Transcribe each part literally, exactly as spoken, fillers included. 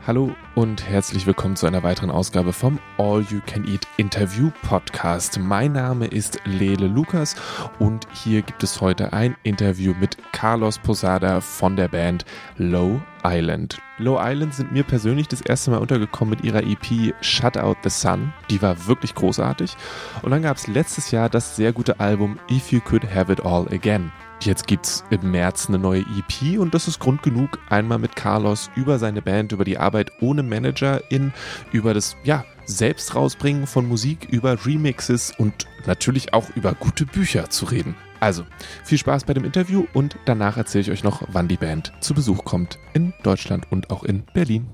Hallo und herzlich willkommen zu einer weiteren Ausgabe vom All You Can Eat Interview Podcast. Mein Name ist Lele Lukas und hier gibt es heute ein Interview mit Carlos Posada von der Band Low Island. Low Island sind mir persönlich das erste Mal untergekommen mit ihrer E P Shut Out the Sun. Die war wirklich großartig. Und dann gab es letztes Jahr das sehr gute Album If You Could Have It All Again. Jetzt gibt's im März eine neue E P und das ist Grund genug, einmal mit Carlos über seine Band, über die Arbeit ohne Managerin, über das, ja, selbst rausbringen von Musik, über Remixes und natürlich auch über gute Bücher zu reden. Also, viel Spaß bei dem Interview und danach erzähle ich euch noch, wann die Band zu Besuch kommt in Deutschland und auch in Berlin.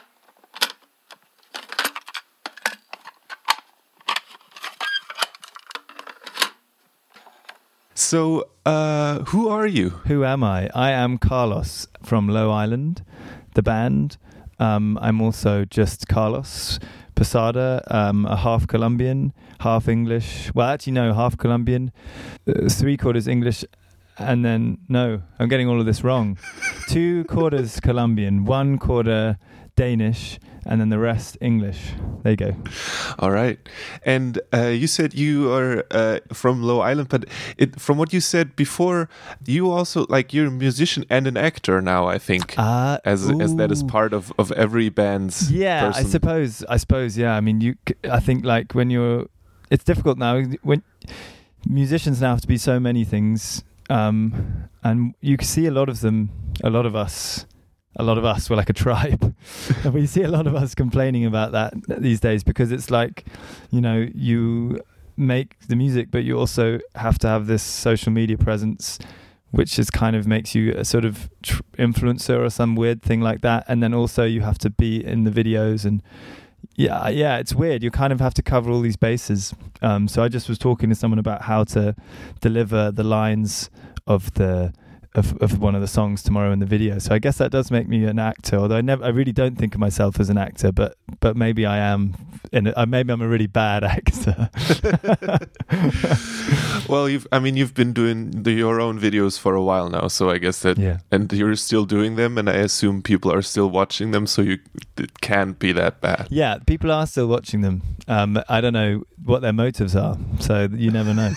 So, uh, who are you? Who am I? I am Carlos from Low Island, the band. Um, I'm also just Carlos Posada, um, a half Colombian, half English. Well, actually, no, half Colombian, uh, three quarters English, and then, no, I'm getting all of this wrong. Two quarters Colombian, one quarter Danish, and then the rest English. There you go. All right. And uh, you said you are uh, from Low Island, but it, from what you said before, you also, like, you're a musician and an actor now, I think, uh, as as that is part of, of every band's Yeah, person. I suppose, I suppose, yeah. I mean, you. I think, like, when you're, it's difficult now. When musicians now have to be so many things, um, and you can see a lot of them, a lot of us, A lot of us, we're like a tribe. And we see a lot of us complaining about that these days because it's like, you know, you make the music, but you also have to have this social media presence, which is kind of makes you a sort of tr- influencer or some weird thing like that. And then also you have to be in the videos and yeah, yeah, it's weird. You kind of have to cover all these bases. Um, so I just was talking to someone about how to deliver the lines of the Of, of one of the songs tomorrow in the video. So I guess that does make me an actor, although I never, I really don't think of myself as an actor, but but maybe I am, in a, maybe I'm a really bad actor. Well, you've, I mean, you've been doing the, your own videos for a while now, so I guess that, yeah. And you're still doing them, and I assume people are still watching them, so you it can't be that bad. Yeah, people are still watching them. Um, I don't know what their motives are, so you never know.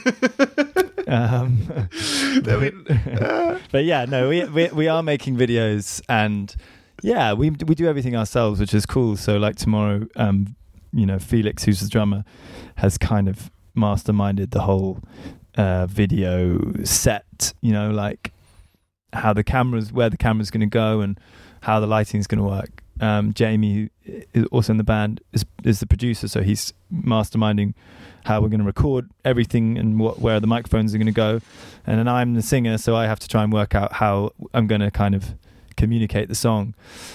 Um, I mean, uh. but yeah, no, we, we we are making videos, and yeah, we we do everything ourselves, which is cool. So like tomorrow, um, you know, Felix, who's the drummer, has kind of masterminded the whole uh, video set. You know, like how the cameras, where the camera's going to go, and how the lighting's going to work. Um, Jamie, who is also in the band, is is the producer, so he's masterminding how we're going to record everything and what where the microphones are going to go. And then I'm the singer, so I have to try and work out how I'm going to kind of communicate the song.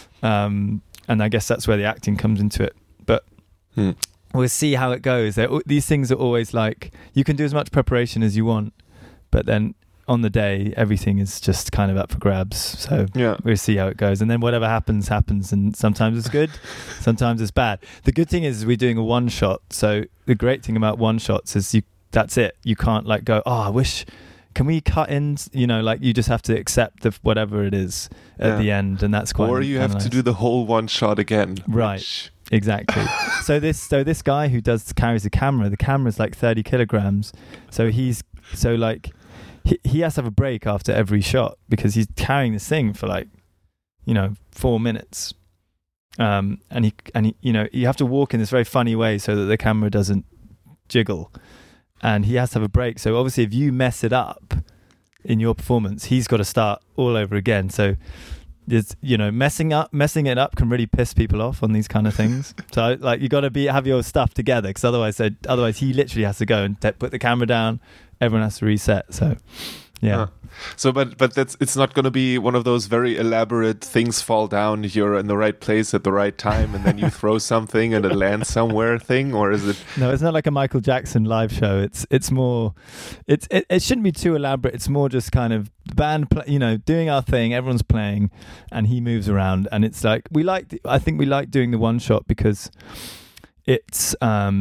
Um, and I guess that's where the acting comes into it. But hmm. we'll see how it goes. They're, these things are always like, you can do as much preparation as you want, but then on the day, everything is just kind of up for grabs. So yeah. We'll see how it goes. And then whatever happens, happens. And sometimes it's good, sometimes it's bad. The good thing is we're doing a one shot. So the great thing about one shots is you that's it. You can't like go, oh, I wish, can we cut in? You know, like you just have to accept the, whatever it is at yeah. the end. And that's quite Or you have nice. to do the whole one shot again. Right. Which... Exactly. so this so this guy who does carries the camera, the camera's like thirty kilograms. So he's, so like, He, he has to have a break after every shot because he's carrying this thing for like, you know, four minutes. Um, and he, and he, you know, you have to walk in this very funny way so that the camera doesn't jiggle. And he has to have a break. So obviously if you mess it up in your performance, he's got to start all over again. So there's, you know, messing up, messing it up can really piss people off on these kind of things. So like you got to be, have your stuff together because otherwise, otherwise he literally has to go and t- put the camera down. Everyone has to reset. So, yeah. Huh. So, but but that's it's not going to be one of those very elaborate things fall down. You're in the right place at the right time, and then you throw something and it lands somewhere thing, or is it? No, it's not like a Michael Jackson live show. It's it's more, it's it, it shouldn't be too elaborate. It's more just kind of the band, play, you know, doing our thing. Everyone's playing, and he moves around, and it's like we like. I think we like doing the one shot because it's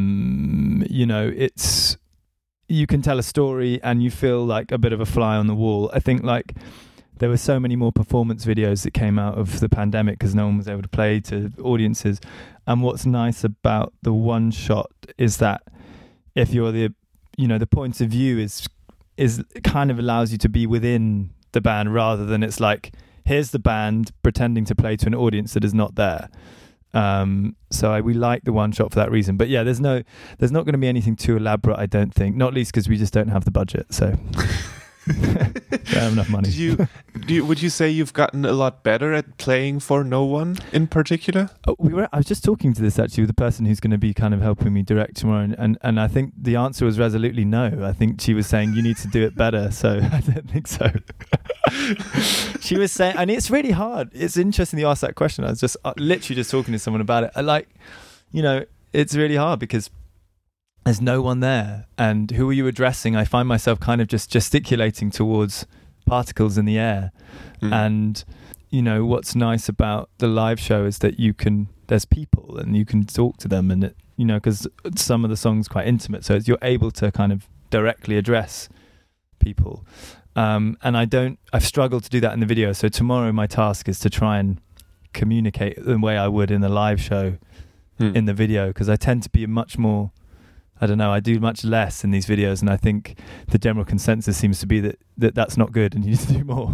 um you know it's. You can tell a story and you feel like a bit of a fly on the wall. I think like there were so many more performance videos that came out of the pandemic because no one was able to play to audiences. And what's nice about the one shot is that if you're the, you know, the point of view is is kind of allows you to be within the band rather than it's like, here's the band pretending to play to an audience that is not there. Um, so I, we like the one shot for that reason. But yeah, there's no, there's not going to be anything too elaborate, I don't think. Not least because we just don't have the budget. So don't have enough money. Did you, do you, would you say you've gotten a lot better at playing for no one in particular? Oh, we were. I was just talking to this actually with the person who's going to be kind of helping me direct tomorrow, and, and, and I think the answer was resolutely no. I think she was saying you need to do it better. So I don't think so. She was saying, and it's really hard. It's interesting you asked that question. I was just uh, literally just talking to someone about it. I like, you know, it's really hard because there's no one there. And who are you addressing? I find myself kind of just gesticulating towards particles in the air. Mm. And, you know, what's nice about the live show is that you can, there's people and you can talk to them. And, it, you know, because some of the songs are quite intimate. So it's, you're able to kind of directly address people. Um, and I don't, I've struggled to do that in the video. So tomorrow my task is to try and communicate the way I would in the live show mm. in the video. Because I tend to be much more, I don't know, I do much less in these videos, and I think the general consensus seems to be that, that that's not good and you need to do more.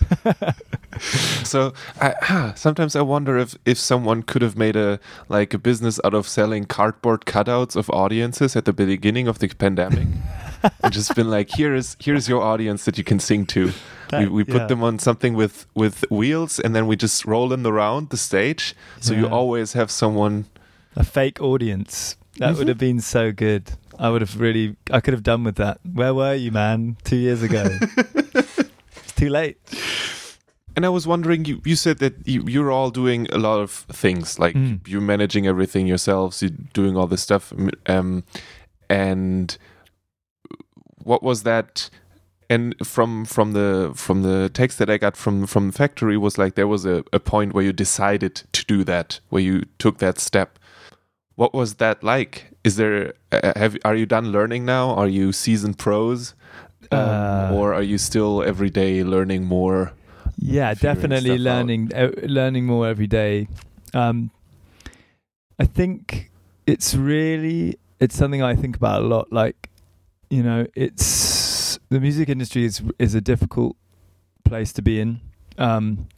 So I, sometimes I wonder if, if someone could have made a like a business out of selling cardboard cutouts of audiences at the beginning of the pandemic. And just been like, here is here's your audience that you can sing to. That, we we put yeah. them on something with, with wheels, and then we just roll them around the stage. So yeah. you always have someone, a fake audience. That mm-hmm. would have been so good. I would have really, I could have done with that. Where were you, man? Two years ago. It's too late. And I was wondering, you, you said that you, you're all doing a lot of things, like mm. you're managing everything yourselves, you're doing all this stuff. Um, and what was that? And from from the from the text that I got from from the factory was like there was a, a point where you decided to do that, where you took that step. What was that like? Is there uh, have are you done learning now? Are you seasoned pros, um, uh, or are you still every day learning more? Yeah, definitely learning uh, learning more every day. Um, I think it's really it's something I think about a lot. Like, you know, it's the music industry is is a difficult place to be in, um,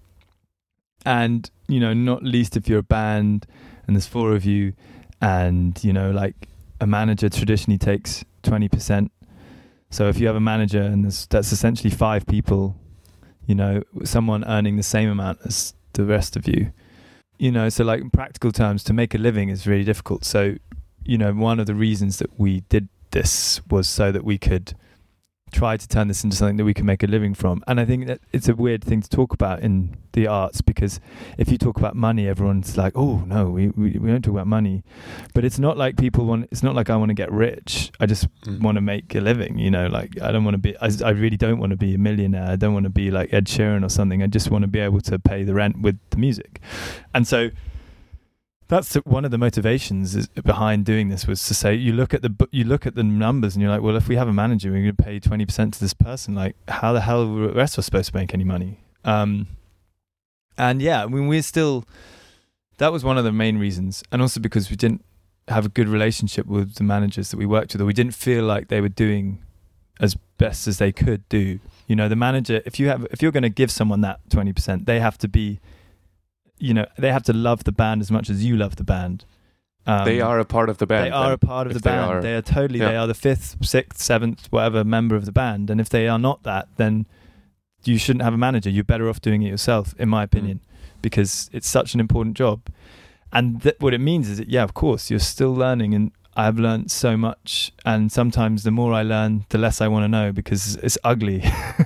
and you know, not least if you're a band and there's four of you. And, you know, like a manager traditionally takes twenty percent. So if you have a manager and there's, that's essentially five people, you know, someone earning the same amount as the rest of you, you know, so like in practical terms, to make a living is really difficult. So, you know, one of the reasons that we did this was so that we could try to turn this into something that we can make a living from. And I think that it's a weird thing to talk about in the arts, because if you talk about money, everyone's like, oh no, we, we, we don't talk about money. But it's not like people want, it's not like I want to get rich. I just mm. want to make a living, you know, like I don't want to be, I, I really don't want to be a millionaire. I don't want to be like Ed Sheeran or something. I just want to be able to pay the rent with the music. And so that's one of the motivations is, behind doing this, was to say, you look at the you look at the numbers and you're like, well, if we have a manager, we're going to pay twenty percent to this person. Like, how the hell are the rest of us supposed to make any money? Um, and yeah, I mean, we're still, that was one of the main reasons. And also because we didn't have a good relationship with the managers that we worked with, or we didn't feel like they were doing as best as they could do. You know, the manager, if you have, if you're going to give someone that twenty percent, they have to be, you know, they have to love the band as much as you love the band. Um, they are a part of the band. They are a part of the band. They are, they are totally, yeah. They are the fifth, sixth, seventh, whatever member of the band. And if they are not that, then you shouldn't have a manager. You're better off doing it yourself, in my opinion, mm. because it's such an important job. And th- what it means is that, yeah, of course, you're still learning. And I've learned so much. And sometimes the more I learn, the less I want to know, because it's ugly.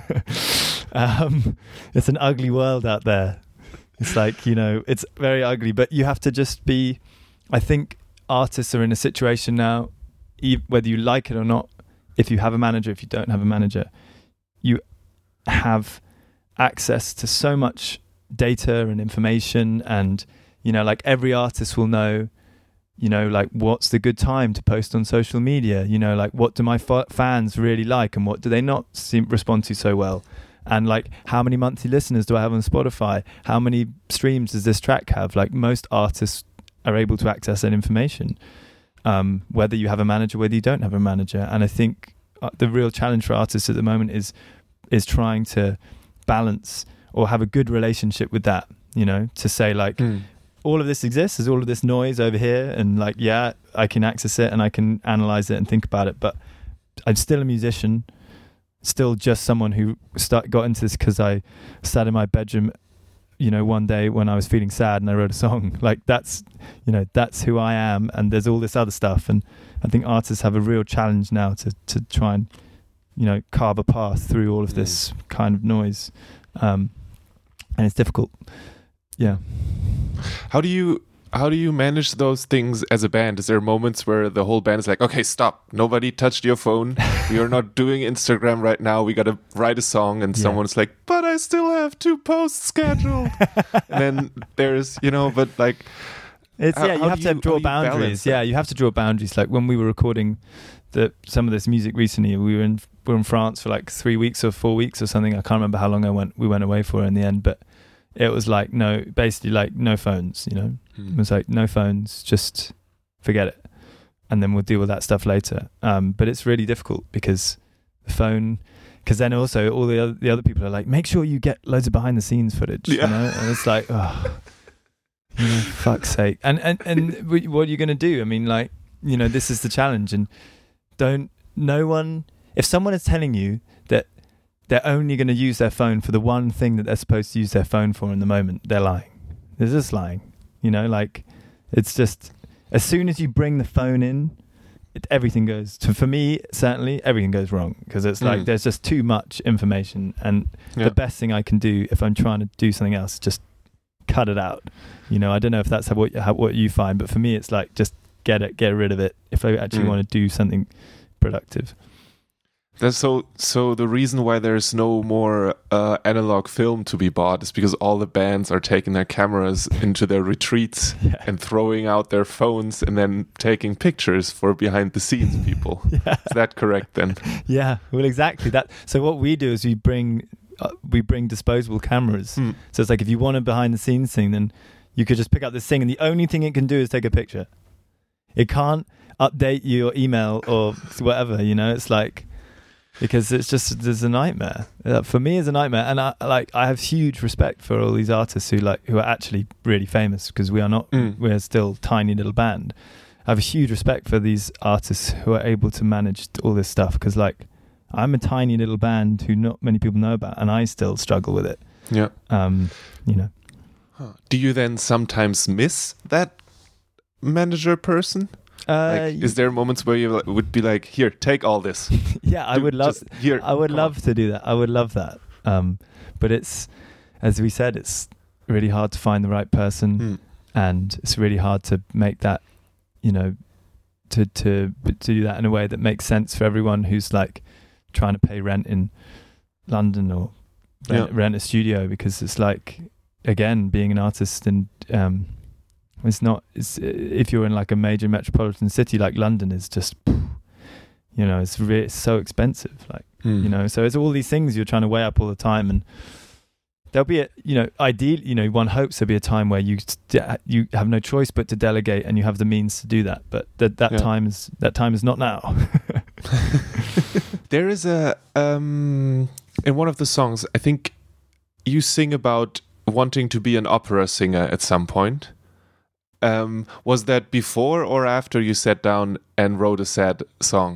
um, it's an ugly world out there. It's like, you know, it's very ugly, but you have to just be, I think artists are in a situation now, whether you like it or not, if you have a manager, if you don't have a manager, you have access to so much data and information. And, you know, like every artist will know, you know, like what's the good time to post on social media, you know, like what do my f- fans really like and what do they not seem respond to so well. And like, how many monthly listeners do I have on Spotify? How many streams does this track have? Like, most artists are able to access that information, um, whether you have a manager, whether you don't have a manager. And I think uh, the real challenge for artists at the moment is is trying to balance or have a good relationship with that, you know, to say like, mm. all of this exists, there's all of this noise over here, and like, yeah, I can access it and I can analyze it and think about it, but I'm still a musician, still just someone who start, got into this because I sat in my bedroom, you know, one day when I was feeling sad and I wrote a song. Like, that's, you know, that's who I am, and there's all this other stuff. And I think artists have a real challenge now to, to try and, you know, carve a path through all of this kind of noise. Um, and it's difficult. Yeah. How do you how do you manage those things as a band? Is there moments where the whole band is like, okay, stop, nobody touched your phone, we are not doing Instagram right now, we gotta write a song, and yeah. someone's like, but I still have two posts scheduled. And then there's, you know, but like, it's how, yeah, you how have to you, draw boundaries. Yeah, you have to draw boundaries. Like when we were recording the some of this music recently, we were in we were in France for like three weeks or four weeks or something. I can't remember how long I went. We went away for in the end, but it was like no, basically like no phones. You know, hmm. It was like no phones, just forget it, and then we'll deal with that stuff later. Um, but it's really difficult because the phone. Because then also all the other, the other people are like, make sure you get loads of behind the scenes footage. Yeah. You know, and it's like, oh. You know, fuck's sake. And, and, and what are you going to do? I mean, like, you know, this is the challenge. And don't, no one, if someone is telling you that they're only going to use their phone for the one thing that they're supposed to use their phone for in the moment, they're lying. They're just lying. You know, like, it's just, as soon as you bring the phone in, it, everything goes, to, for me, certainly, everything goes wrong. Because it's like, mm. there's just too much information. And yeah. the best thing I can do if I'm trying to do something else, just cut it out. You know, I don't know if that's how, what how, what you find, but for me it's like just get it get rid of it if I actually mm. want to do something productive. That's so so the reason why there's no more uh, analog film to be bought is because all the bands are taking their cameras into their retreats yeah. and throwing out their phones and then taking pictures for behind the scenes people. yeah. Is that correct then? Yeah, well, exactly that. So what we do is we bring uh, we bring disposable cameras. Mm. So it's like if you want a behind the scenes thing, then you could just pick up this thing, and the only thing it can do is take a picture. It can't update your email or whatever, you know. It's like, because it's just, there's a nightmare. Uh, for me, it's a nightmare. And I like I have huge respect for all these artists who like who are actually really famous, because we are not, mm. we're still a tiny little band. I have a huge respect for these artists who are able to manage all this stuff, because like I'm a tiny little band who not many people know about, and I still struggle with it. Yeah. Um, you know. Huh. Do you then sometimes miss that manager person? Uh, like, is there moments where you would be like, "Here, take all this"? Yeah, I do, would love. Here, I would love on. to do that. I would love that. Um, but it's, as we said, it's really hard to find the right person, mm. and it's really hard to make that, you know, to to to do that in a way that makes sense for everyone who's like trying to pay rent in London or rent, yeah. rent a studio, because it's like, again, being an artist, and um, it's not. It's if you're in like a major metropolitan city like London, is just, you know, it's re- it's so expensive. Like mm. you know, so it's all these things you're trying to weigh up all the time, and there'll be a, you know, ideally, you know, one hopes there'll be a time where you you have no choice but to delegate, and you have the means to do that. But that that yeah. time is that time is not now. There is a um in one of the songs, I think you sing about wanting to be an opera singer at some point. Um, was that before or after you sat down and wrote a sad song?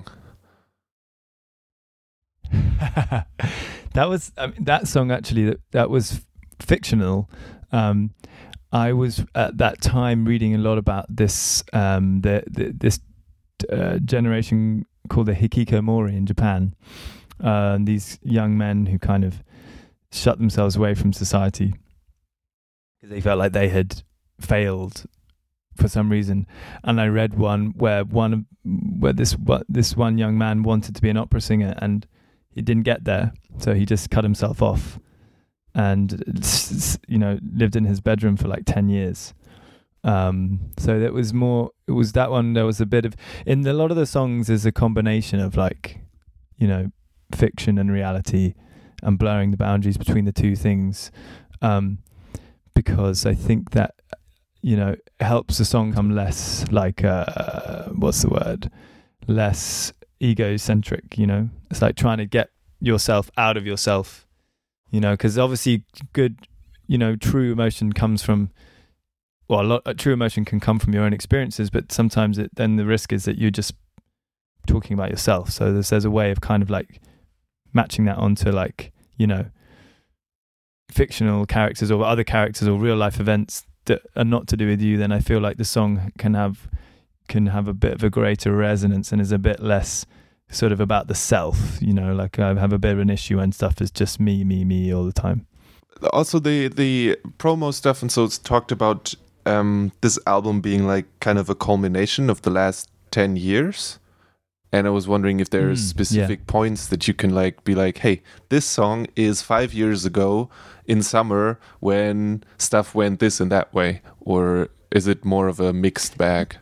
That was I mean, that song actually. That that was fictional. Um, I was at that time reading a lot about this um, the, the this uh, generation called the Hikikomori in Japan. Uh, and these young men who kind of shut themselves away from society because they felt like they had failed for some reason. And I read one where one where this what this one young man wanted to be an opera singer, and he didn't get there, so he just cut himself off, and you know lived in his bedroom for like ten years. Um, so that was more. It was that one. There was a bit of in a lot of the songs. There's a combination of like, you know, fiction and reality, and blurring the boundaries between the two things, um, because I think that, you know, it helps the song come less like, uh, what's the word? Less egocentric, you know? It's like trying to get yourself out of yourself, you know, because obviously good, you know, true emotion comes from, well, a lot, uh, true emotion can come from your own experiences, but sometimes it, then the risk is that you're just talking about yourself. So there's, there's a way of kind of like matching that onto like, you know, fictional characters or other characters or real life events that are not to do with you. Then I feel like the song can have can have a bit of a greater resonance and is a bit less sort of about the self, you know, like I have a bit of an issue when stuff is just me, me, me all the time. Also the the promo stuff, and so it's talked about um, this album being like kind of a culmination of the last ten years. And I was wondering if there's mm, specific yeah. points that you can like be like, hey, this song is five years ago in summer when stuff went this and that way, or is it more of a mixed bag?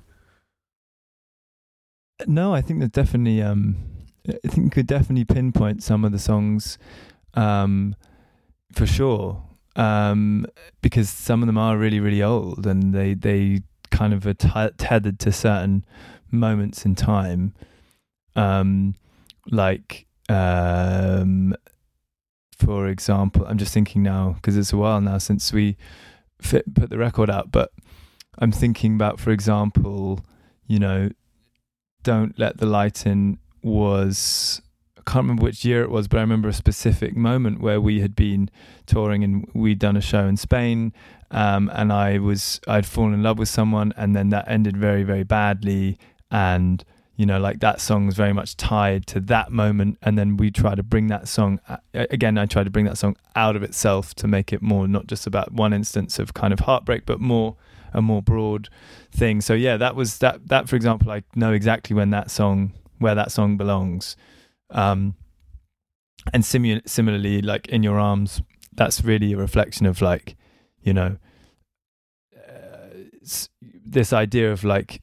No, I think that definitely. Um, I think you could definitely pinpoint some of the songs, um, for sure, um, because some of them are really, really old, and they they kind of are t- tethered to certain moments in time. Um, like, um, for example, I'm just thinking now, because it's a while now since we fit, put the record out, but I'm thinking about, for example, you know, Don't Let the Light In was, I can't remember which year it was, but I remember a specific moment where we had been touring and we'd done a show in Spain, um, and I was, I'd fallen in love with someone, and then that ended very, very badly, and you know, like that song was very much tied to that moment. And then we try to bring that song, again, I try to bring that song out of itself to make it more, not just about one instance of kind of heartbreak, but more a more broad thing. So yeah, that was that, that for example, I know exactly when that song, where that song belongs. Um, and simu- similarly, like In Your Arms, that's really a reflection of like, you know, uh, this idea of like,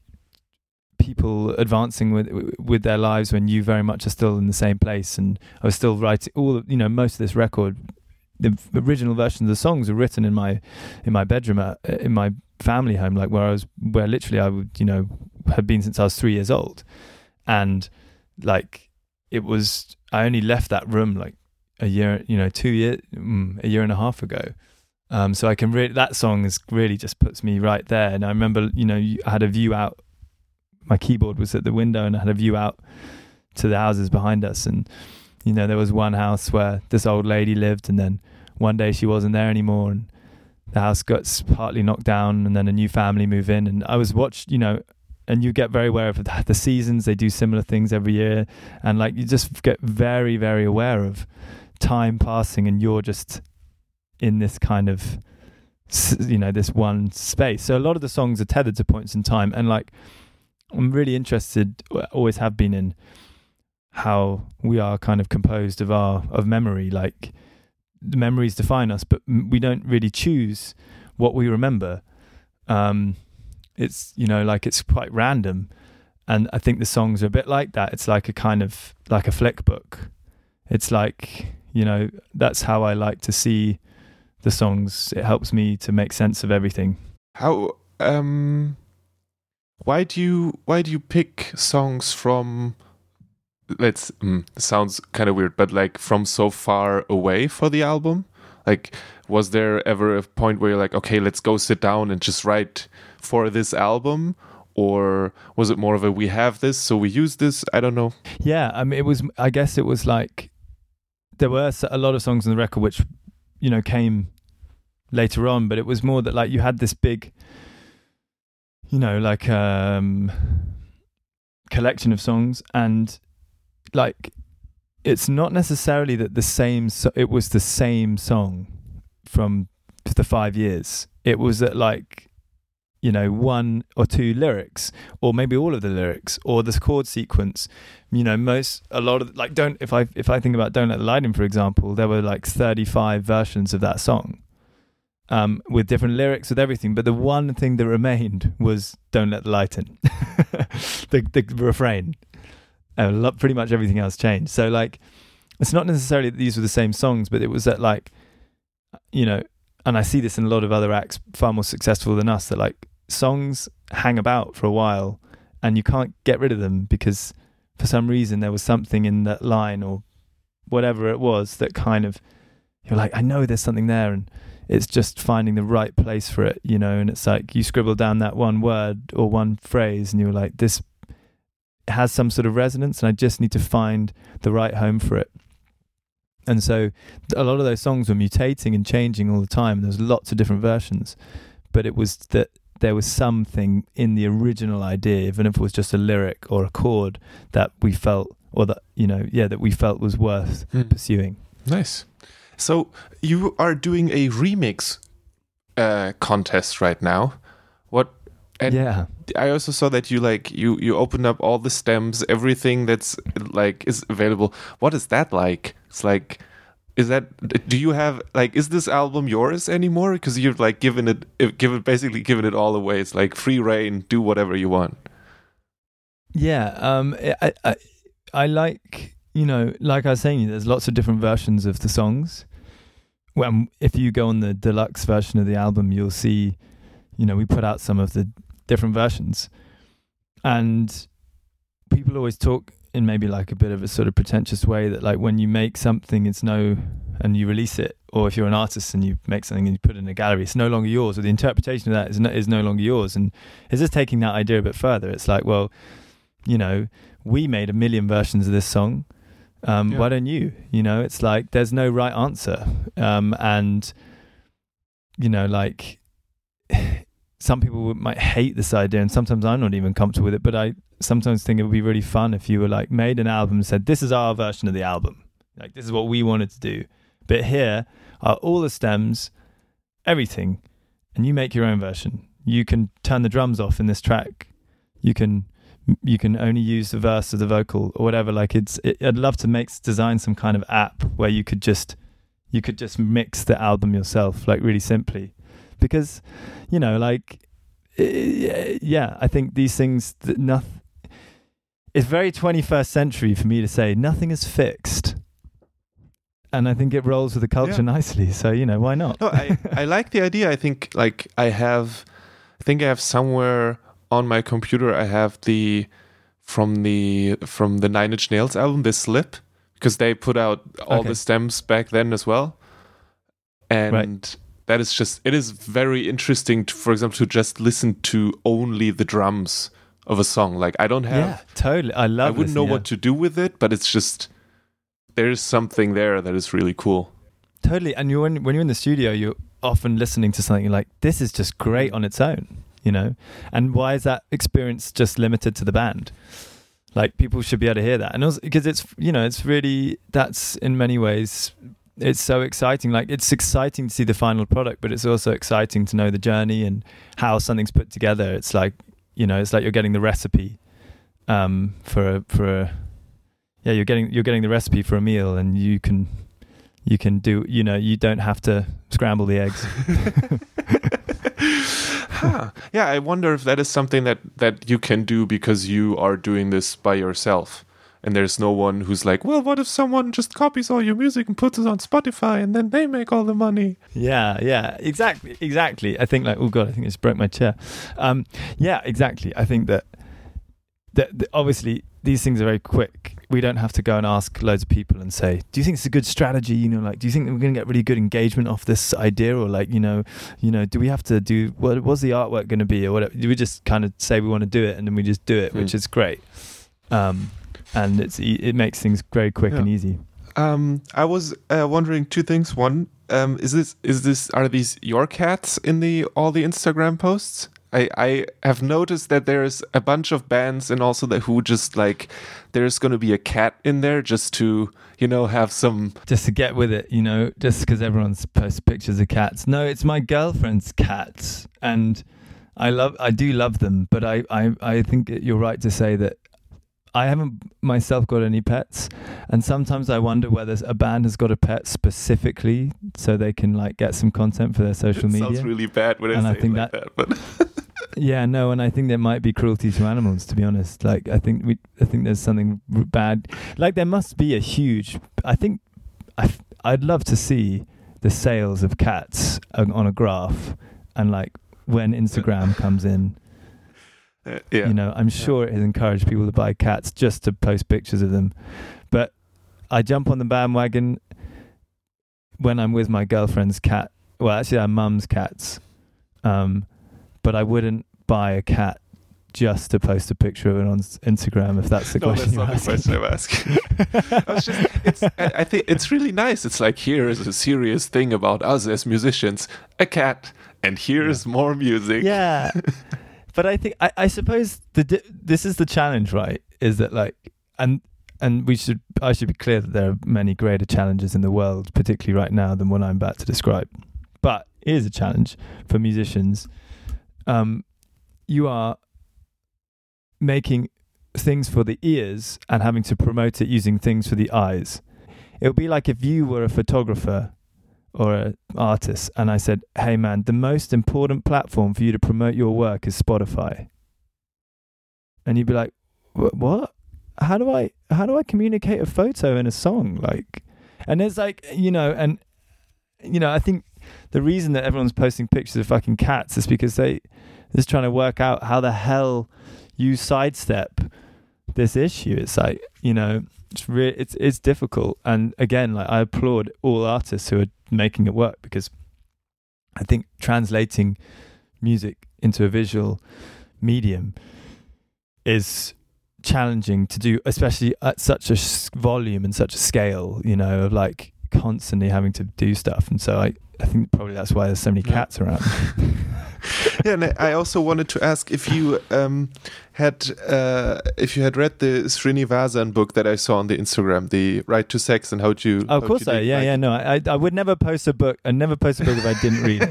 people advancing with with their lives when you very much are still in the same place. And I was still writing all, you know, most of this record, the original versions of the songs were written in my in my bedroom at, in my family home, like where I was, where literally I would, you know, had been since I was three years old. And like it was, I only left that room like a year, you know, two years, a year and a half ago. Um, so I can really, that song is really just puts me right there. And I remember, you know, I had a view out. My keyboard was at the window and I had a view out to the houses behind us. And, you know, there was one house where this old lady lived, and then one day she wasn't there anymore and the house got partly knocked down, and then a new family moved in. And I was watched, you know, and you get very aware of the seasons. They do similar things every year. And like, you just get very, very aware of time passing, and you're just in this kind of, you know, this one space. So a lot of the songs are tethered to points in time. And like, I'm really interested, always have been, in how we are kind of composed of our of memory. Like the memories define us, but we don't really choose what we remember. Um, it's, you know, like it's quite random. And I think the songs are a bit like that. It's like a kind of like a flick book. It's like, you know, that's how I like to see the songs. It helps me to make sense of everything. How, um... Why do you why do you pick songs from, let's mm, sounds kind of weird, but like from so far away for the album? Like, was there ever a point where you're like, okay, let's go sit down and just write for this album? Or was it more of a, we have this, so we use this? I don't know. Yeah, I mean, it was, I guess it was like, there were a lot of songs on the record which, you know, came later on, but it was more that like you had this big, you know, like um collection of songs, and like it's not necessarily that the same so it was the same song from the five years. It was that like, you know, one or two lyrics, or maybe all of the lyrics, or this chord sequence. You know, most a lot of like don't if I if I think about Don't Let the Light In, for example, there were like thirty-five versions of that song. Um, with different lyrics, with everything, but the one thing that remained was "Don't Let the Light In," the the refrain. Uh, pretty much everything else changed. So, like, it's not necessarily that these were the same songs, but it was that, like, you know, and I see this in a lot of other acts far more successful than us, that like songs hang about for a while and you can't get rid of them because for some reason there was something in that line or whatever it was that kind of, you're like, I know there's something there, and it's just finding the right place for it, you know. And it's like you scribble down that one word or one phrase and you're like, this has some sort of resonance and I just need to find the right home for it. And so a lot of those songs were mutating and changing all the time. There's lots of different versions, but it was that there was something in the original idea, even if it was just a lyric or a chord, that we felt, or that, you know, yeah, that we felt was worth hmm. pursuing. Nice. So you are doing a remix uh, contest right now. What? And yeah. I also saw that you like you you opened up all the stems, everything that's like is available. What is that like? It's like, is that, do you have like, is this album yours anymore? Because you've like given it, given basically given it all away. It's like free reign, do whatever you want. Yeah, um, I, I I like, you know, like I was saying, there's lots of different versions of the songs. When if you go on the deluxe version of the album, you'll see, you know, we put out some of the different versions, and people always talk in maybe like a bit of a sort of pretentious way that like when you make something, it's no, and you release it, or if you're an artist and you make something and you put it in a gallery, it's no longer yours, or the interpretation of that is no, is no longer yours. And it's just taking that idea a bit further. It's like, well, you know, we made a million versions of this song. Um, yeah. Why don't you? You know, it's like there's no right answer. Um, and, you know, like some people might hate this idea, and sometimes I'm not even comfortable with it, but I sometimes think it would be really fun if you were like made an album and said, this is our version of the album. Like, this is what we wanted to do. But here are all the stems, everything, and you make your own version. You can turn the drums off in this track. You can you can only use the verse of the vocal or whatever. Like it's, it, I'd love to make design some kind of app where you could just you could just mix the album yourself, like really simply, because you know, like yeah, I think these things that nothing. It's very twenty-first century for me to say nothing is fixed. And I think it rolls with the culture yeah. nicely. So, you know, why not? No, I, I like the idea. I think like I have, I think I have somewhere on my computer, I have the, from the, from the Nine Inch Nails album, this Slip, because they put out all okay. the stems back then as well. And right. that is just, it is very interesting, to, for example, to just listen to only the drums of a song. Like I don't have, yeah, totally. I love I wouldn't know yeah. what to do with it, but it's just, there's something there that is really cool. Totally. And you when when you're in the studio, you're often listening to something like, this is just great on its own, you know? And why is that experience just limited to the band? Like people should be able to hear that. And also because it's, you know, it's really, that's in many ways, it's so exciting. Like it's exciting to see the final product, but it's also exciting to know the journey and how something's put together. It's like, you know, it's like you're getting the recipe um, for a, for a, yeah, you're getting you're getting the recipe for a meal, and you can you can do, you know, you don't have to scramble the eggs. huh. Yeah, I wonder if that is something that, that you can do because you are doing this by yourself, and there's no one who's like, well, what if someone just copies all your music and puts it on Spotify, and then they make all the money? Yeah, yeah, exactly, exactly. I think like, oh god, I think I just broke my chair. Um, yeah, exactly. I think that that, that obviously these things are very quick. We don't have to go and ask loads of people and say, do you think it's a good strategy? You know, like, do you think we're going to get really good engagement off this idea? Or like, you know, you know, do we have to do, what was the artwork going to be or whatever? Do we just kind of say we want to do it and then we just do it, mm. which is great. Um, and it's, it makes things very quick yeah. and easy. Um, I was uh, wondering two things. One, um, is this, is this, are these your cats in the, all the Instagram posts? I, I have noticed that there's a bunch of bands and also that who just like, there's going to be a cat in there just to, you know, have some... Just to get with it, you know, just because everyone's posts pictures of cats. No, it's my girlfriend's cats. And I love, I do love them, but I, I, I think you're right to say that I haven't myself got any pets. And sometimes I wonder whether a band has got a pet specifically so they can like get some content for their social it media. Sounds really bad when I and say I think it like that, that, but... Yeah, no, and I think there might be cruelty to animals. To be honest, like I think we, I think there's something bad. Like there must be a huge. I think I, I'd love to see the sales of cats on a graph, and like when Instagram comes in, uh, yeah. you know, I'm sure it has encouraged people to buy cats just to post pictures of them. But I jump on the bandwagon when I'm with my girlfriend's cat. Well, actually, our mum's cats. Um, But I wouldn't buy a cat just to post a picture of it on Instagram, if that's the no, question you're asking. No, that's not the question I'm asking. I, was just, it's, I, I think it's really nice. It's like, here is a serious thing about us as musicians, a cat, and here's yeah. more music. Yeah. But I think, I, I suppose the this is the challenge, right? Is that like, and and we should, I should be clear that there are many greater challenges in the world, particularly right now, than what I'm about to describe. But it is a challenge for musicians. Um, you are making things for the ears and having to promote it using things for the eyes. It would be like if you were a photographer or an artist and I said, hey man, the most important platform for you to promote your work is Spotify. And you'd be like, what? How do I, how do I communicate a photo in a song? Like, and it's like, you know, and, you know, I think the reason that everyone's posting pictures of fucking cats is because they they're just trying to work out how the hell you sidestep this issue. It's like, you know, it's really, it's it's difficult. And again, like I applaud all artists who are making it work, because I think translating music into a visual medium is challenging to do, especially at such a volume and such a scale, you know, of like constantly having to do stuff. And so I, I think probably that's why there's so many cats yeah. around. Yeah, and I also wanted to ask if you um, had uh, if you had read the Srinivasan book that I saw on the Instagram, the Right to Sex, and how you. Oh, of course, I yeah, like yeah. No, I I would never post a book. I never post a book if I didn't read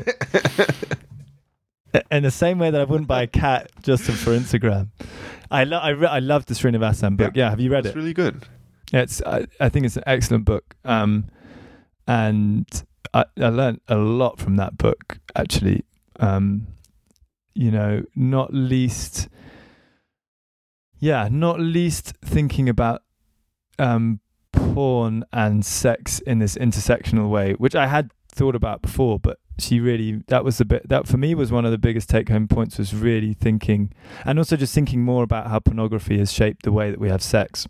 it. In the same way that I wouldn't buy a cat just for Instagram. I lo- I, re- I love the Srinivasan book. Yeah, yeah, have you read it's it? It's really good. Yeah, it's I, I think it's an excellent book. Um, and I, I learned a lot from that book, actually. Um, you know, not least, yeah, not least thinking about um, porn and sex in this intersectional way, which I had thought about before, but she really, that was a bit, that for me was one of the biggest take home points, was really thinking, and also just thinking more about how pornography has shaped the way that we have sex.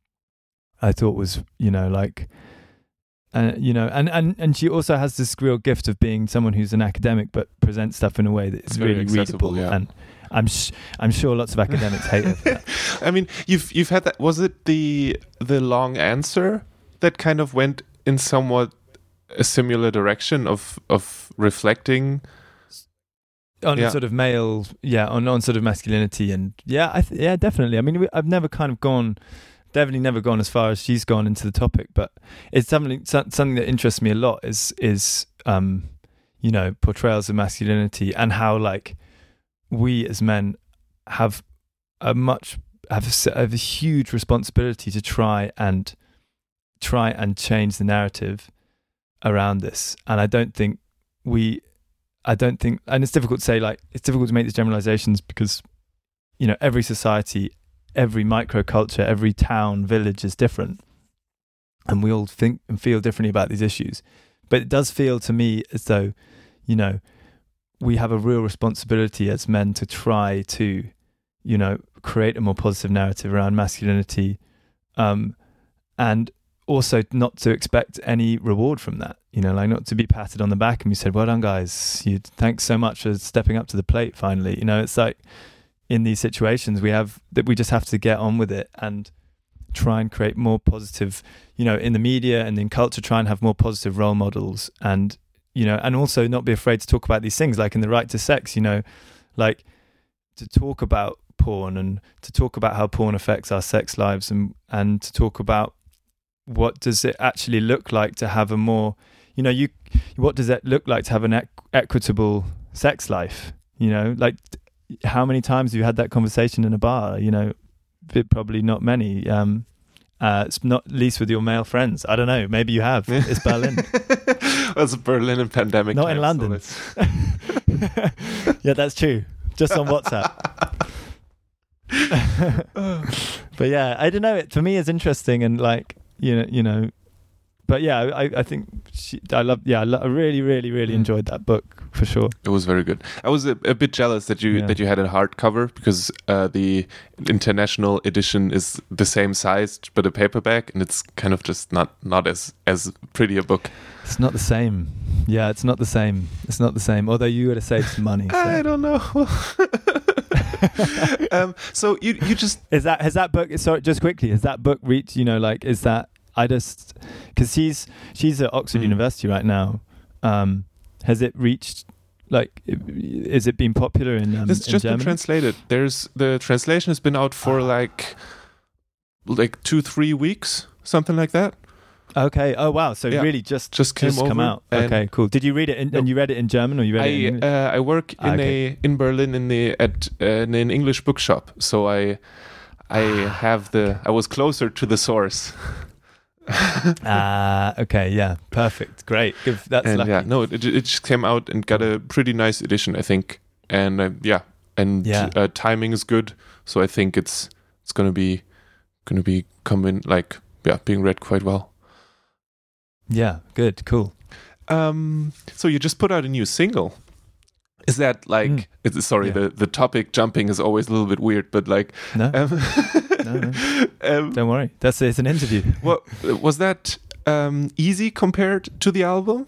I thought was, you know, like, uh, you know, and, and, and she also has this real gift of being someone who's an academic, but presents stuff in a way that is really readable. Yeah. And I'm sh- I'm sure lots of academics hate her for that. I mean, you've you've had that. Was it the the long answer that kind of went in somewhat a similar direction of of reflecting on yeah. sort of male, yeah, on on sort of masculinity, and yeah, I th- yeah, definitely. I mean, we, I've never kind of gone. Definitely never gone as far as she's gone into the topic, but it's something something that interests me a lot is is um you know, portrayals of masculinity, and how like we as men have a much have a, have a huge responsibility to try and try and change the narrative around this. And I don't think we I don't think and it's difficult to say, like, it's difficult to make these generalizations because, you know, every society, every microculture, every town, village is different, and we all think and feel differently about these issues. But it does feel to me as though, you know, we have a real responsibility as men to try to, you know, create a more positive narrative around masculinity, um, and also not to expect any reward from that. You know, like not to be patted on the back and we said, "Well done, guys! You thanks so much for stepping up to the plate." Finally, you know, it's like, in these situations we have that we just have to get on with it and try and create more positive, you know, in the media and in culture, try and have more positive role models, and, you know, and also not be afraid to talk about these things, like in the Right to Sex, you know, like to talk about porn and to talk about how porn affects our sex lives, and, and to talk about what does it actually look like to have a more, you know, you, what does it look like to have an equ- equitable sex life, you know, like, how many times have you had that conversation in a bar? You know, probably not many. Um, uh, it's not least with your male friends. I don't know. Maybe you have. It's Berlin. Well, it's Berlin and pandemic. Not time, in London. So yeah, that's true. just on WhatsApp. But yeah, I don't know. It for me is interesting and like you know, you know. But yeah, I, I think she, I love. Yeah, I, lo- I really, really, really Mm. enjoyed that book for sure. It was very good. I was a, a bit jealous that you Yeah. that you had a hardcover because uh, the international edition is the same size but a paperback, and it's kind of just not not as as pretty a book. It's not the same. Yeah, it's not the same. It's not the same. Although you would have saved some money. So. I don't know. um, so you you just Is that has that book? Sorry, just quickly, has that book reached? You know, like is that? I just because she's she's at Oxford Mm. University right now. Um, has it reached? Like, is it been popular in? Um, it's in just been Germany? translated. There's the translation has been out for Ah. like like two three weeks, something like that. Okay. Oh wow. So Yeah. really, just Just came just come over out. and- Okay. Cool. Did you read it? In, No. And you read it in German, or you read it in I English? uh, I work in Ah, okay. a in Berlin in the at uh, in an English bookshop, so I I have the I was closer to the source. Ah. okay. Yeah. Perfect. Great. Good. That's and lucky. yeah, no, it it just came out and got a pretty nice edition, I think. And uh, yeah, and Yeah. Uh, timing is good, so I think it's it's gonna be gonna be coming like yeah being read quite well. Yeah. Good. Cool. Um, so you just put out a new single. Is that like? Mm. It's, sorry, Yeah. the the topic jumping is always a little bit weird, but like, No. um, No, no. um, Don't worry. That's it's an interview. what was that um, easy compared to the album?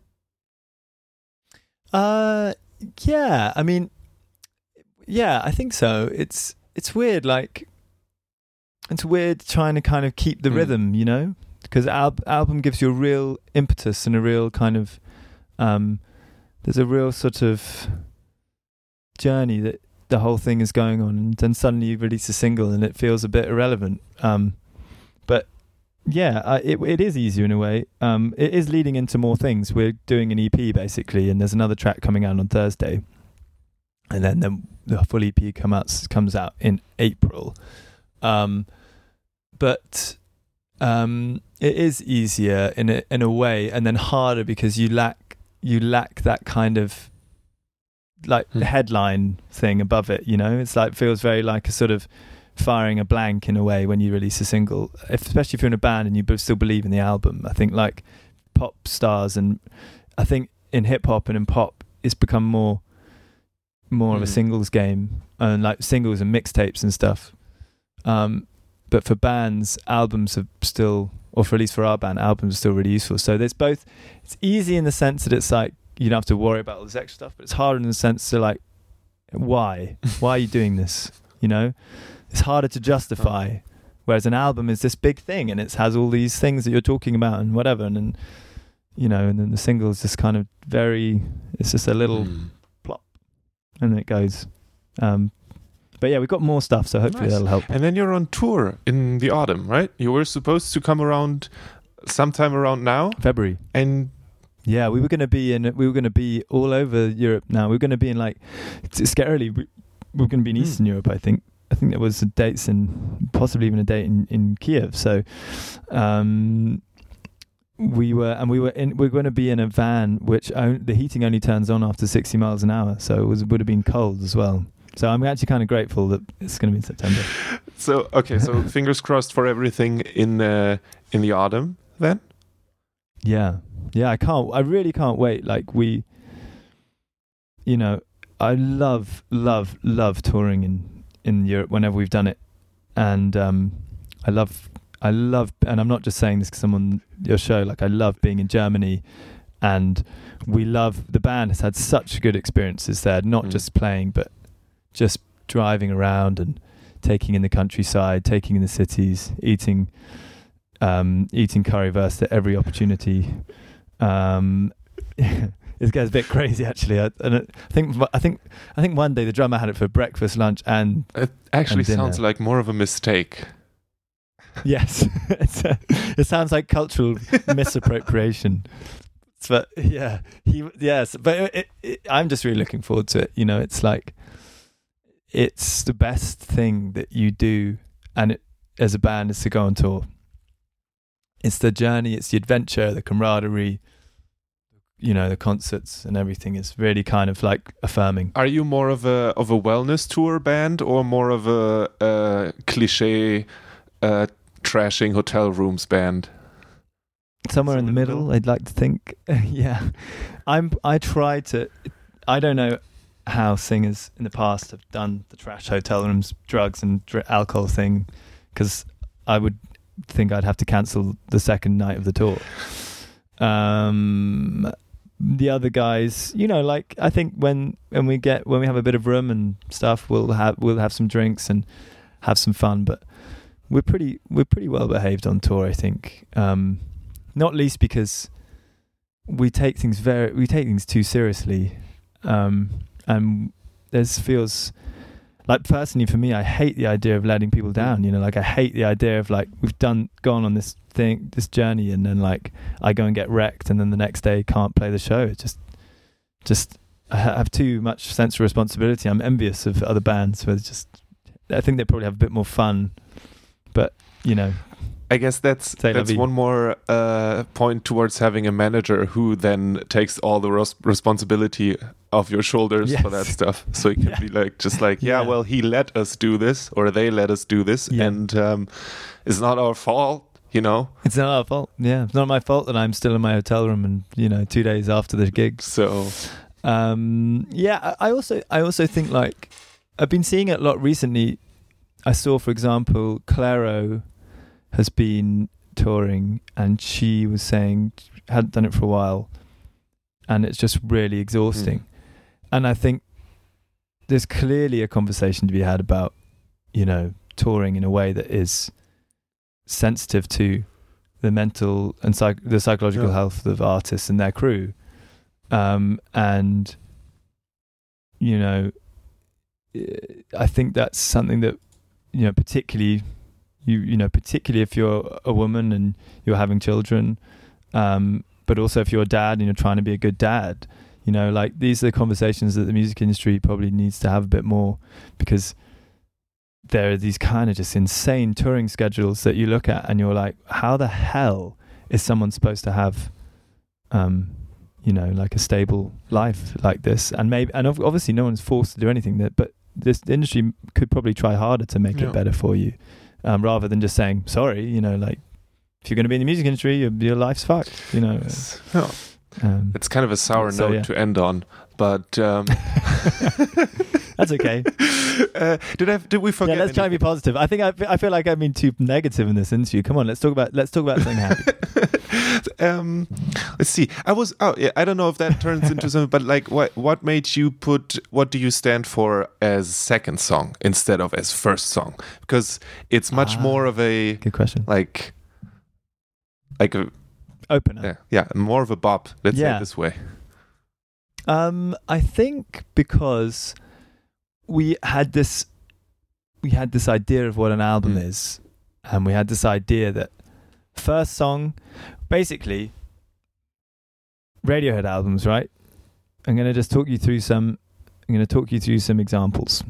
Uh, yeah. I mean, yeah, I think so. It's it's weird. Like, it's weird trying to kind of keep the Mm. rhythm, you know, because al- album gives you a real impetus and a real kind of um. There's a real sort of journey that the whole thing is going on, and then suddenly you release a single and it feels a bit irrelevant. Um, but yeah, I, it it is easier in a way. Um, it is leading into more things. We're doing an E P basically, and there's another track coming out on Thursday, and then the, the full E P come out comes out in April. Um, but um, it is easier in a in a way, and then harder because you lack you lack that kind of like Hmm. headline thing above it. You know, it's like feels very like a sort of firing a blank in a way when you release a single, if, especially if you're in a band and you b- still believe in the album. I think like pop stars, and I think in hip hop and in pop, it's become more more of a Mm. singles game, and like singles and mixtapes and stuff. Um, but for bands, albums are still, or for at least for our band, albums are still really useful. So there's both. It's easy in the sense that it's like you don't have to worry about all this extra stuff, but it's harder in the sense to like, why? Why are you doing this? You know, it's harder to justify. Whereas an album is this big thing, and it has all these things that you're talking about and whatever, and then you know, and then the single is just kind of very. It's just a little, Mm. and then it goes. Um, but yeah, we've got more stuff, so hopefully Nice. that'll help. And then you're on tour in the autumn, right? You were supposed to come around sometime around now, February. and Yeah, we were going to be in. We were going to be all over Europe. Now we were going to be in like, it's scarily. We, we were going to be in Hmm. Eastern Europe. I think. I think there was dates in, possibly even a date in, in Kiev. So, um, we were, and we were in. We were going to be in a van, which on, the heating only turns on after sixty miles an hour. So it was would have been cold as well. So I'm actually kind of grateful that it's going to be in September. so okay, so fingers crossed for everything in uh, in the autumn then. Yeah. Yeah, I can't, I really can't wait. Like we, you know, I love, love, love touring in, in Europe whenever we've done it. And um, I love, I love, and I'm not just saying this because I'm on your show, like I love being in Germany, and we love, the band has had such good experiences there, not Mm. just playing, but just driving around and taking in the countryside, taking in the cities, eating, um, eating currywurst at every opportunity. Um, it gets a bit crazy actually. I, and I think I think I think one day the drummer had it for breakfast, lunch, and It actually And dinner. sounds like more of a mistake. yes, it's a, it sounds like cultural misappropriation. But yeah, he yes, but it, it, it, I'm just really looking forward to it. You know, it's like it's the best thing that you do, and it, as a band, is to go on tour. It's the journey, it's the adventure, the camaraderie. you know, the concerts and everything is really kind of like affirming. Are you more of a of a wellness tour band or more of a, a cliche uh, trashing hotel rooms band? Somewhere in the middle, middle, I'd like to think. yeah, I'm. I try to. I don't know how singers in the past have done the trash hotel rooms, drugs and dr- alcohol thing, because I would think I'd have to cancel the second night of the tour. Um, the other guys, you know, like I think when when we get when we have a bit of room and stuff, we'll have we'll have some drinks and have some fun. But we're pretty we're pretty well behaved on tour, I think. Um, Not least because we take things very, we take things too seriously, um, and there's feels like personally for me, I hate the idea of letting people down. You know, like I hate the idea of like we've done gone on this thing, this journey, and then like I go and get wrecked, and then the next day can't play the show. It just, just I have too much sense of responsibility. I'm envious of other bands where it's just, I think they probably have a bit more fun, but you know. I guess that's that's one more uh, point towards having a manager who then takes all the res- responsibility off your shoulders yes. for that stuff. So it can yeah. be like, just like, yeah, yeah, well, he let us do this, or they let us do this, yeah. and um, it's not our fault, you know? It's not our fault, yeah. It's not my fault that I'm still in my hotel room and, you know, two days after the gig. So, um, yeah, I also, I also think, like, I've been seeing it a lot recently. I saw, for example, Clairo has been touring, and she was saying hadn't done it for a while, and it's just really exhausting. Mm. And I think there's clearly a conversation to be had about, you know, touring in a way that is sensitive to the mental and psych- the psychological yeah. health of artists and their crew, um, and you know, I think that's something that, you know, particularly. You you know, particularly if you're a woman and you're having children, um, but also if you're a dad and you're trying to be a good dad, you know, like these are the conversations that the music industry probably needs to have a bit more, because there are these kind of just insane touring schedules that you look at and you're like, how the hell is someone supposed to have, um, you know, like a stable life like this? And maybe, and obviously no one's forced to do anything that, but this industry could probably try harder to make yeah. it better for you. Um, rather than just saying, sorry, you know, like, if you're going to be in the music industry, your, your life's fucked, you know. It's, oh. um, it's kind of a sour so, note yeah. to end on, but... Um, that's okay. Uh, did I? Did we forget? Yeah, let's anything? try and be positive. I think I, I feel like I've been too negative in this interview. Come on, let's talk about let's talk about something happy. um, let's see. I was. Oh, yeah. I don't know if that turns into something, but like, what what made you put? What do you stand for as second song instead of as first song? Because it's much ah, more of a good question. Like, like a opener. Yeah, yeah, more of a bop. Let's yeah. say it this way. Um, I think because we had this, we had this idea of what an album mm. is, and we had this idea that first song, basically, Radiohead albums, right? I'm going to just talk you through some. I'm going to talk you through some examples.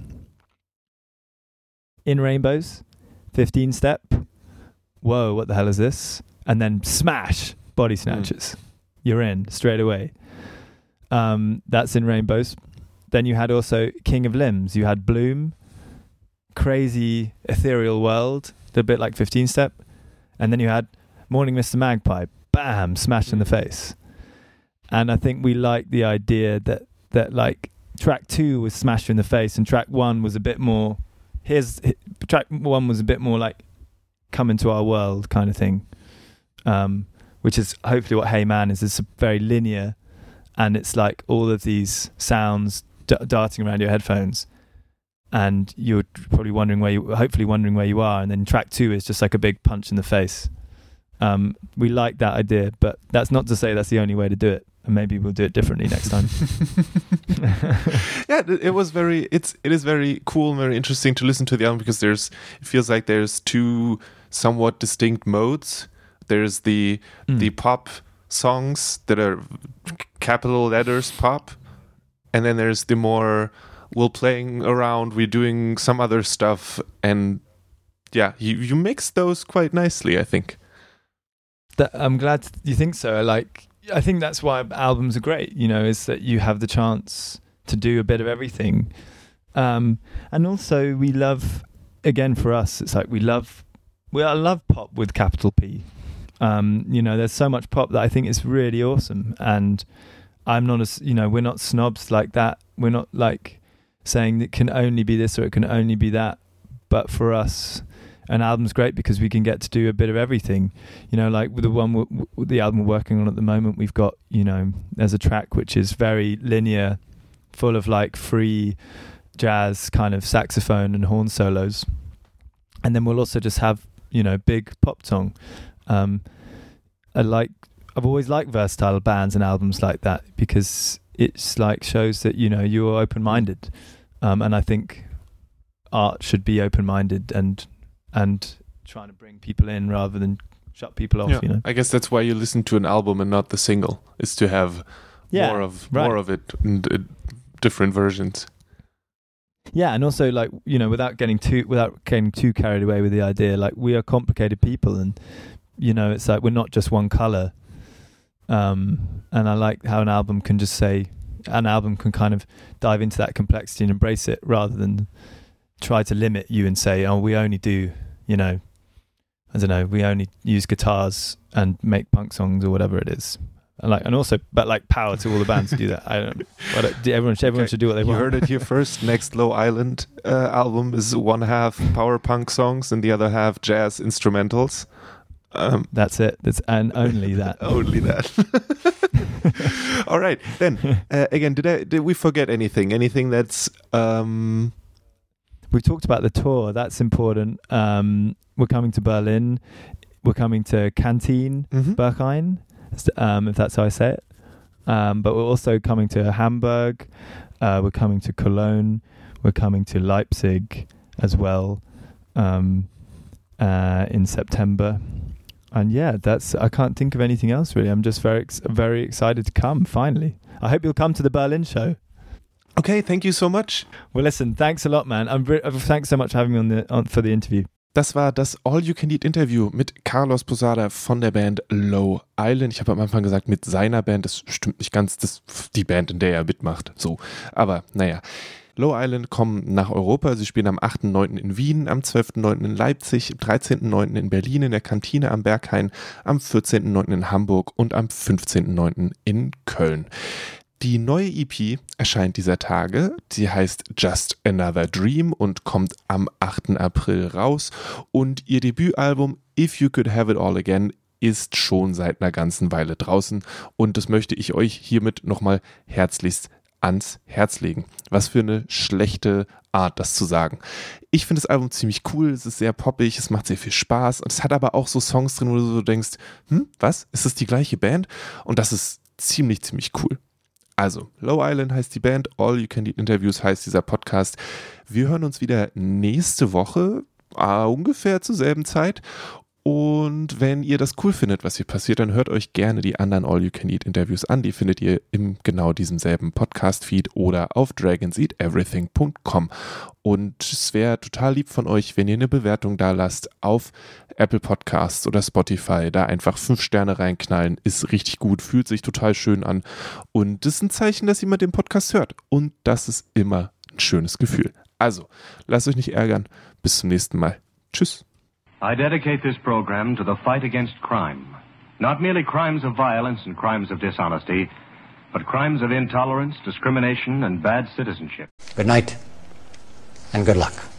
In Rainbows, fifteen step. Whoa, what the hell is this? And then smash, Body Snatchers. Mm. You're in straight away. Um, that's in Rainbows. Then you had also King of Limbs. You had Bloom, crazy ethereal world, a bit like fifteen step. And then you had Morning Mister Magpie, bam, smashed in the face. And I think we liked the idea that, that like track two was smashed in the face and track one was a bit more, here's, track one was a bit more like come into our world kind of thing. Um, which is hopefully what Hey Man is. It's very linear. And it's like all of these sounds d- darting around your headphones, and you're probably wondering where you, hopefully wondering where you are. And then track two is just like a big punch in the face. Um, we like that idea, but that's not to say that's the only way to do it. And maybe we'll do it differently next time. Yeah, it was very. It's it is very cool, and very interesting to listen to the album, because there's. It feels like there's two somewhat distinct modes. There's the mm. the pop songs that are capital letters pop, and then there's the more we're playing around, we're doing some other stuff, and yeah, you you mix those quite nicely, I think. That, I'm glad you think so. Like, I think that's why albums are great, you know, is that you have the chance to do a bit of everything. Um, and also we love, again, for us, it's like we love, we I love pop with capital P. Um, you know, there's so much pop that I think is really awesome. And I'm not as, you know, we're not snobs like that. We're not like saying it can only be this or it can only be that. But for us, an album's great because we can get to do a bit of everything. You know, like with the one, w- w- the album we're working on at the moment, we've got, you know, there's a track which is very linear, full of like free jazz kind of saxophone and horn solos. And then we'll also just have, you know, big pop song. Um, I like, I've always liked versatile bands and albums like that because it's like shows that, you know, you're open-minded. Um, and I think art should be open-minded and and trying to bring people in rather than shut people off. Yeah, you know, I guess that's why you listen to an album and not the single, is to have yeah, more of right. more of it and uh, different versions. Yeah, and also like, you know, without getting too without getting too carried away with the idea, like we are complicated people, and you know, it's like we're not just one color. Um, and I like how an album can just say, an album can kind of dive into that complexity and embrace it rather than try to limit you and say, oh, we only do, you know, I don't know, we only use guitars and make punk songs or whatever it is. And like, and also, but like, power to all the bands to do that. I don't. But everyone, everyone okay. should do what they you want. You heard it here first. Next Low Island uh, album is one half power punk songs and the other half jazz instrumentals. Um, That's it. That's and only that. only that. All right, then uh, again, did I did we forget anything? Anything that's um. We talked about the tour. That's important. Um, we're coming to Berlin. We're coming to Canteen, mm-hmm. Berghain, um, if that's how I say it. Um, but we're also coming to Hamburg. Uh, we're coming to Cologne. We're coming to Leipzig as well um, uh, in September. And yeah, that's. I can't think of anything else really. I'm just very, ex- very excited to come. Finally, I hope you'll come to the Berlin show. Okay, thank you so much. Well, listen, thanks a lot, man. I'm re- thanks so much for having me on the on, for the interview. Das war das All-You-Can-Eat-Interview mit Carlos Posada von der Band Low Island. Ich habe am Anfang gesagt, mit seiner Band. Das stimmt nicht ganz. Das ist die Band, in der er mitmacht. So, aber naja. Low Island kommen nach Europa. Sie spielen am achten neunten in Wien, am zwölften neunten in Leipzig, am dreizehnten neunten in Berlin in der Kantine am Berghain, am vierzehnten neunten in Hamburg und am fünfzehnten neunten in Köln. Die neue E P erscheint dieser Tage. Sie heißt Just Another Dream und kommt am achten April raus. Und ihr Debütalbum If You Could Have It All Again ist schon seit einer ganzen Weile draußen. Und das möchte ich euch hiermit nochmal herzlichst ans Herz legen. Was für eine schlechte Art, das zu sagen. Ich finde das Album ziemlich cool, es ist sehr poppig, es macht sehr viel Spaß und es hat aber auch so Songs drin, wo du so denkst, hm, was? Ist das die gleiche Band? Und das ist ziemlich, ziemlich cool. Also, Low Island heißt die Band, All You Can Eat Interviews heißt dieser Podcast. Wir hören uns wieder nächste Woche, äh, ungefähr zur selben Zeit. Und wenn ihr das cool findet, was hier passiert, dann hört euch gerne die anderen All You Can Eat Interviews an. Die findet ihr im genau diesem selben Podcast-Feed oder auf dragons eat everything punkt com. Und es wäre total lieb von euch, wenn ihr eine Bewertung da lasst auf Apple Podcasts oder Spotify. Da einfach fünf Sterne reinknallen, ist richtig gut, fühlt sich total schön an. Und das ist ein Zeichen, dass jemand den Podcast hört. Und das ist immer ein schönes Gefühl. Also, lasst euch nicht ärgern. Bis zum nächsten Mal. Tschüss. I dedicate this program to the fight against crime. Not merely crimes of violence and crimes of dishonesty, but crimes of intolerance, discrimination, and bad citizenship. Good night, and good luck.